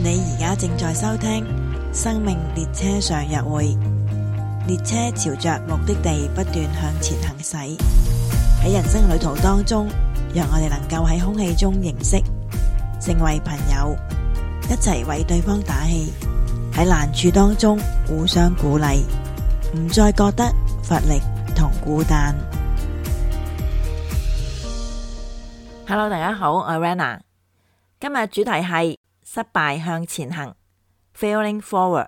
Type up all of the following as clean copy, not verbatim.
你而家正在收聽生命列車上約會，列車朝着目的地不斷向前行駛。喺人生旅途當中，讓我哋能夠喺空氣中認識，成為朋友，一齊為對方打氣。喺難處當中互相鼓勵，唔再覺得乏力同孤單。Hello， 大家好，我係 Rana。今日主題係失敗向前行 Failing Forward。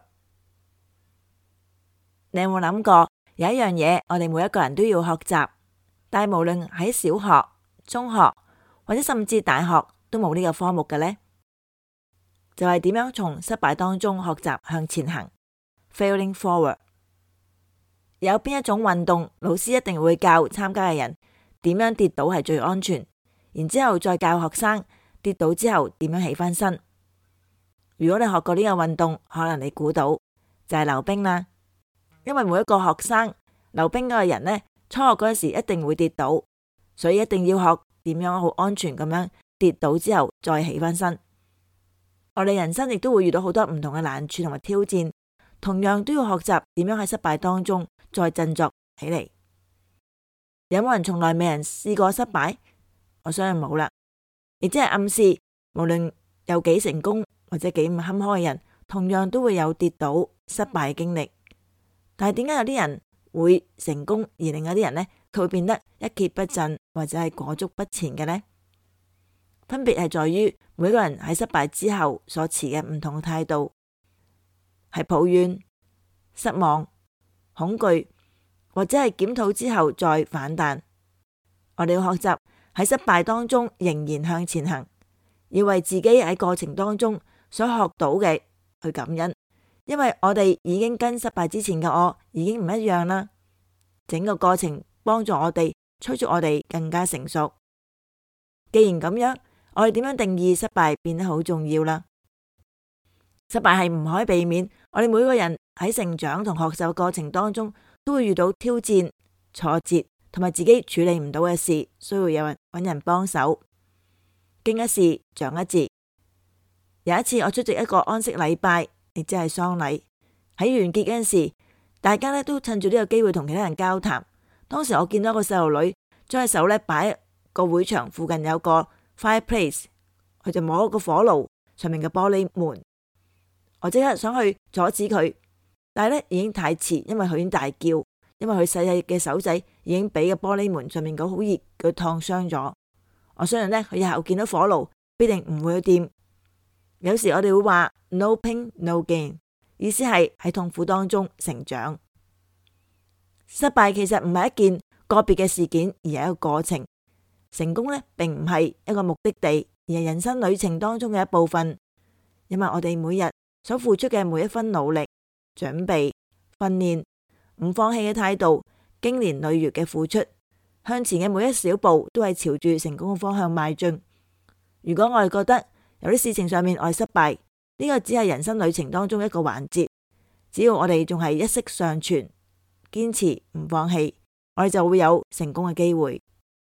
你有冇諗過有一樣嘢我哋每一個人都要學習，但係無論喺小學、中學或者甚至大學都冇呢個科目嘅呢？就係點樣從失敗當中學習向前行 Failing Forward。 有邊一種運動老師一定會教參加嘅人點樣跌倒係最安全，然之後再教學生跌倒之後點樣起翻身。如果你學過呢個運動，可能你估到就係溜冰啦。因為每一個學生溜冰嗰個人呢，初學嗰時一定會跌倒，所以一定要學點樣好安全咁樣跌倒之後再起翻身。我哋人生亦都會遇到好多唔同嘅難處同埋挑戰，同樣都要學習點樣喺失敗當中再振作起嚟。有冇人從來未人試過失敗？我相信冇啦。亦即係暗示，無論有幾成功或者幾唔坎坷嘅人，同樣都會有跌倒失敗嘅經歷。但係點解有啲人會成功，而另外啲人呢，佢會變得一蹶不振或者係裹足不前嘅呢？分別係在於每個人喺失敗之後所持嘅唔同嘅態度，係抱怨、失望、恐懼，或者係檢討之後再反彈。我哋要學習喺失敗當中仍然向前行，要為自己喺過程當中所學到嘅去感恩，因為我哋已經跟失敗之前嘅我已經唔一樣啦。整個過程幫助我哋，催促我哋更加成熟。既然咁樣，我哋點樣定義失敗變得好重要啦。失敗係唔可以避免，我哋每個人喺成長同學習嘅過程當中都會遇到挑戰、挫折同埋自己處理唔到嘅事，需要有人揾人幫手。經一事長一智。有一次我出席一個安息禮拜，亦即係喪禮，喺完結嗰陣時，大家咧都趁住呢個機會同其他人交談。當時我見到一個細路女將隻手咧擺喺個會場附近有個 fireplace， 佢就摸個火爐上面嘅玻璃門。我即刻想去阻止佢，但係咧已經太遲，因為佢已經大叫，因為佢細細嘅手仔已經俾個玻璃門上面個好熱佢燙傷咗。我相信咧佢以後見到火爐必定唔會去掂。有時我哋會話 no pain no gain， 意思係喺痛苦當中成長。失敗其實唔係一件個別嘅事件，而係一個過程。成功咧並唔係一個目的地，而係人生旅程當中嘅一部分。因為我哋每日所付出嘅每一分努力、準備、訓練、唔放棄嘅態度、經年累月嘅付出，向前嘅每一小步都係朝住成功嘅方向邁進。如果我哋覺得有啲事情上面我哋失敗，呢個只係人生旅程當中一個環節。只要我哋仲係一息尚存，堅持唔放棄，我哋就會有成功嘅機會。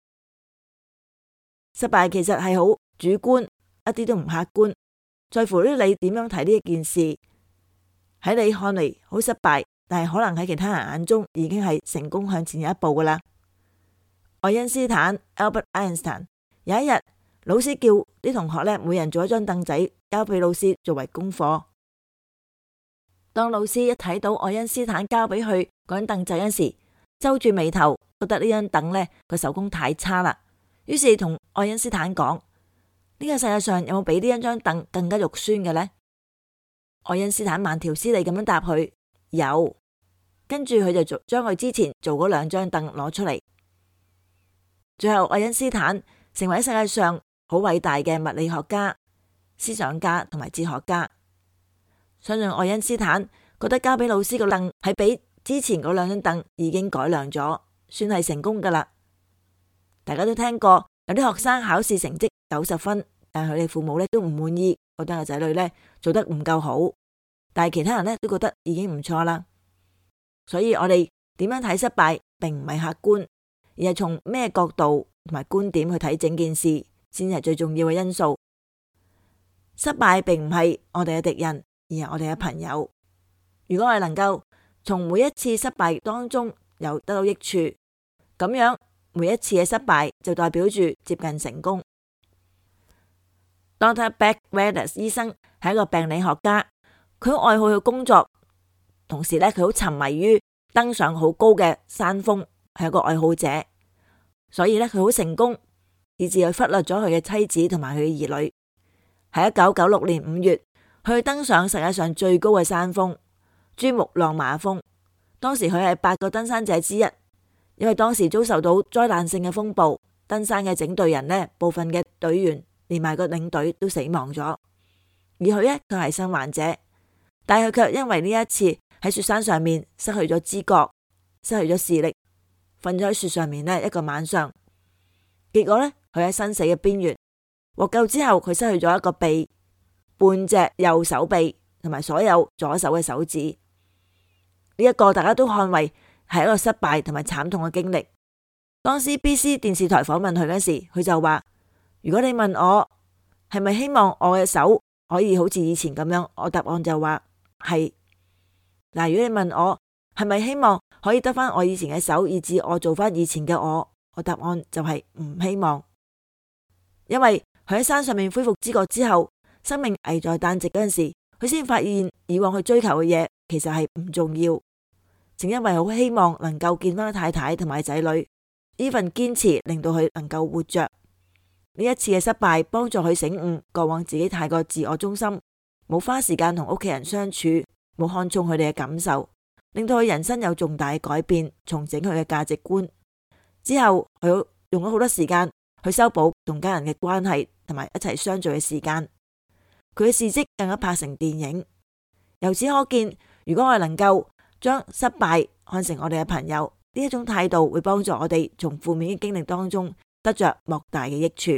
失敗其實係好主觀，一啲都唔客觀，在乎於你點樣睇呢一件事。喺你看嚟好失敗，但係可能喺其他人眼中已經係成功向前一步噶啦。愛因斯坦 Albert Einstein 有一日，老師叫啲同學咧，每人做一張凳仔交俾老師作為功課。當老師一睇到愛因斯坦交俾佢嗰張凳仔嗰時，皺住眉頭，覺得呢張凳咧個手工太差啦。於是同愛因斯坦講：呢個世界上有冇比呢一張凳更加肉酸嘅呢？愛因斯坦慢條斯理咁樣答佢：有。跟住佢就將佢之前做嗰兩張凳攞出嚟。最後愛因斯坦成為世界上好偉大嘅物理學家、思想家同埋哲學家。相信愛因斯坦覺得交俾老師個凳係比之前嗰兩張凳已經改良咗，算係成功噶啦。大家都聽過有啲學生考試成績90分，但係佢哋父母咧都唔滿意，覺得個仔女咧做得唔夠好，但係其他人咧都覺得已經唔錯啦。所以我哋點樣睇失敗，並唔係客觀，而係從咩角度同埋觀點去睇整件事，先係最重要嘅因素。 失敗並唔係我哋嘅敵人，而係我哋嘅朋友。如果我哋能夠從每一次失敗當中有得到益處，咁樣每一次嘅失敗就代表住接近成功。Dr. Beck Wallace 醫生係一個病理學家，佢好愛好佢工作，同時佢好沉迷於登上好高嘅山峰，係一個愛好者，所以佢好成功，以致佢忽略咗佢嘅妻子同埋佢嘅兒女。喺1996年5月，佢登上世界上最高嘅山峰珠穆朗瑪峰。當時佢係8個登山者之一，因為當時遭受到災難性嘅風暴，登山嘅整隊人部分嘅隊員連埋個領隊都死亡咗，而佢係生還者，但係佢卻因為呢一次喺雪山上面失去咗知覺，失去咗視力，瞓咗喺雪上面一個晚上，結果佢喺生死嘅邊緣。獲救之後，佢失去咗一個臂、半隻右手臂同埋所有左手嘅手指。呢一個大家都看為係一個失敗同埋慘痛嘅經歷。當 CBC 電視台訪問佢嗰時，佢就話：如果你問我係咪希望我嘅手可以好似以前咁樣，我答案就話係。嗱，如果你問我係咪希望可以得返我以前嘅手，以致我做返以前嘅我答案就係唔希望。因為佢喺山上面恢復知覺之後，生命危在旦夕嗰陣時，佢先發現以往佢追求嘅嘢其實係唔重要。正因為好希望能夠見翻太太同埋仔女，呢份堅持令到佢能夠活着。呢一次嘅失敗幫助佢醒悟過往自己太過自我中心，冇花時間同屋企人相處，冇看重佢哋嘅感受，令到佢人生有重大嘅改變，重整佢嘅價值觀。之後佢用咗好多時間去修補同家人嘅關係，同埋一齊相聚嘅時間。佢嘅事蹟更加拍成電影。由此可見，如果我哋能夠將失敗看成我哋嘅朋友，呢一種態度會幫助我哋從負面嘅經歷當中得着莫大嘅益處。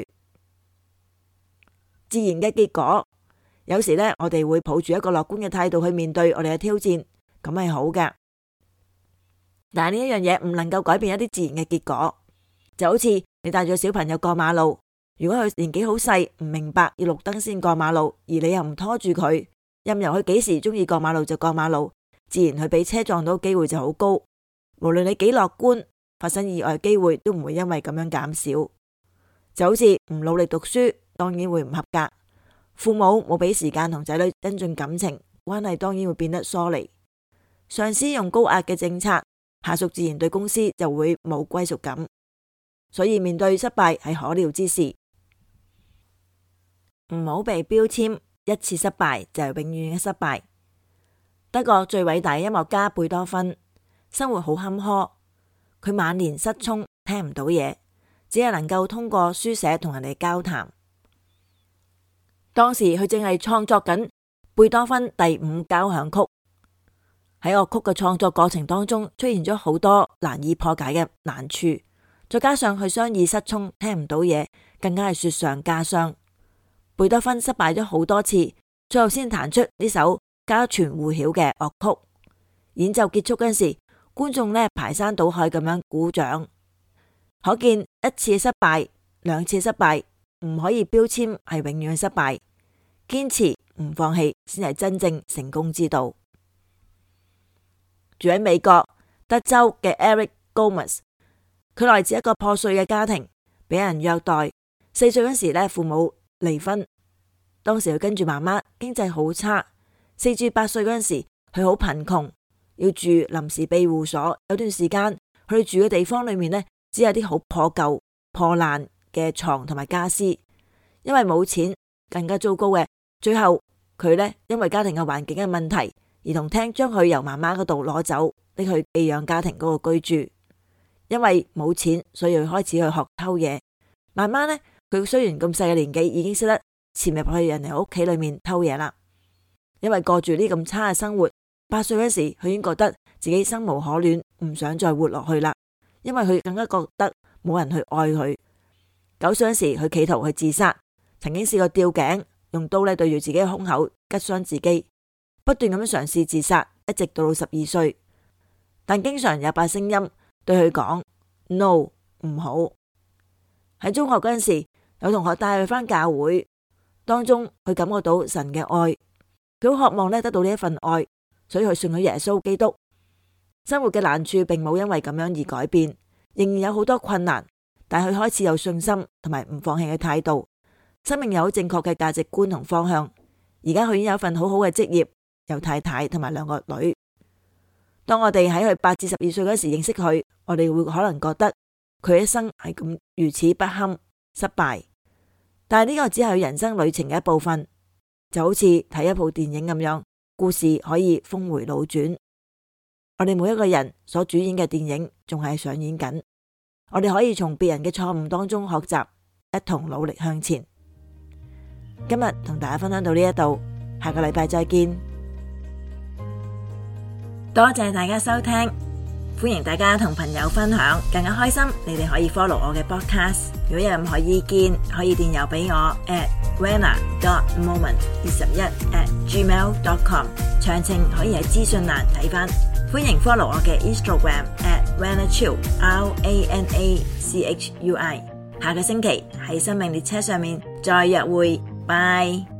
自然嘅結果，有時我哋會抱住一個樂觀嘅態度去面對我哋嘅挑戰，咁係好嘅。但係呢一樣嘢唔能夠改變一啲自然嘅結果，就好似你帶住小朋友過馬路，如果佢年紀好細，唔明白要綠燈先過馬路，而你又唔拖住佢，任由佢幾時中意過馬路就過馬路，自然佢俾車撞到機會就好高。無論你幾樂觀，發生意外機會都唔會因為咁樣減少。就好似唔努力讀書，當然會唔合格；父母冇俾時間同仔女增進感情，關係當然會變得疏離。上司用高壓嘅政策，下屬自然對公司就會冇歸屬感。所以面對失敗係可料之事，唔好被標籤一次失敗就係永遠嘅失敗。德國最偉大嘅音樂家貝多芬，生活好坎坷，佢晚年失聰，聽唔到嘢，只係能夠通過書寫同人哋交談。當時佢正係創作緊貝多芬第5交響曲，喺樂曲嘅創作過程當中出現咗好多難以破解嘅難處。再加上佢雙耳失聰，聽唔到嘢，更加係雪上加霜。貝多芬失敗咗好多次，最後先彈出呢首家傳戶曉嘅樂曲。演奏結束嗰陣時，觀眾排山倒海咁樣鼓掌。可見一次失敗、2次失敗唔可以標籤係永遠嘅失敗，堅持唔放棄先係真正成功之道。住喺美國德州嘅 Eric Gomez，佢來自一個破碎嘅家庭，俾人虐待。4歲嗰時父母離婚，當時佢跟住媽媽，經濟好差。4至8歲嗰陣時，佢好貧窮，要住臨時庇護所。有段時間，佢哋住嘅地方裏面只有啲好破舊、破爛嘅床同埋家私。因為冇錢，更加糟糕嘅，最後佢因為家庭嘅環境嘅問題，兒童廳將佢由媽媽嗰度攞走，拎去寄養家庭嗰個居住。因為冇錢，所以佢開始去學偷嘢。慢慢佢雖然咁細嘅年紀，已經識得潛入去人哋屋企裏面偷嘢啦。因為過住呢咁差嘅生活，8歲嗰時佢已經覺得自己生無可戀，唔想再活落去啦。因為佢更加覺得冇人去愛佢。9歲嗰時佢企圖去自殺，曾經試過吊頸，用刀對住自己嘅胸口拮傷自己，不斷咁樣嘗試自殺，一直到12歲。但經常有把聲音對佢講 no， 唔好。喺中學嗰陣時，有同學帶佢返教會， 當中佢感覺到神嘅愛，佢好渴望得到呢一份愛，所以佢信咗耶穌基督。生活嘅難處並冇因為咁樣而改變，仍然有好多困難，但佢開始有信心同埋唔放棄嘅態度，生命有正確嘅價值觀同方向。而家佢已經有一份好好嘅職業，有太太同埋2個女。當我哋喺佢8至12歲嗰時認識佢，我哋會可能覺得佢一生係咁如此不堪失敗，但係呢個只係佢人生旅程嘅一部分，就好似睇一部電影咁樣，故事可以峰回路轉。我哋每一個人所主演嘅電影仲係上演緊，我哋可以從別人嘅錯誤當中學習，一同努力向前。今日同大家分享到呢一度，下個禮拜再見。多謝大家收聽，歡迎大家同朋友分享，更加開心。你哋可以 follow 我嘅 podcast， 如果有任何意見可以電郵俾我 rana.moment21@gmail.com， 詳情可以喺資訊欄睇返。歡迎 follow 我嘅 Instagram @ranachui RANACHUI。下個星期喺生命列車上面再約會，拜。